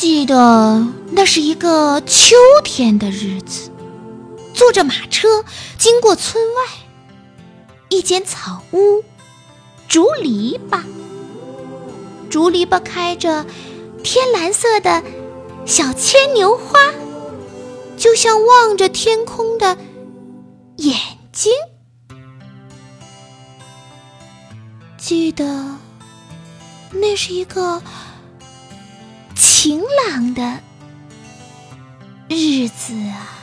记得那是一个秋天的日子，坐着马车经过村外，一间草屋，竹篱笆，竹篱笆开着天蓝色的小牵牛花，就像望着天空的眼睛。记得那是一个晴朗的日子啊。